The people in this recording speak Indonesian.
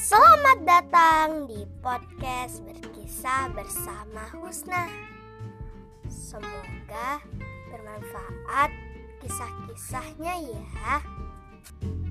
Selamat datang di podcast Berkisah bersama Husna. Semoga bermanfaat kisah-kisahnya ya.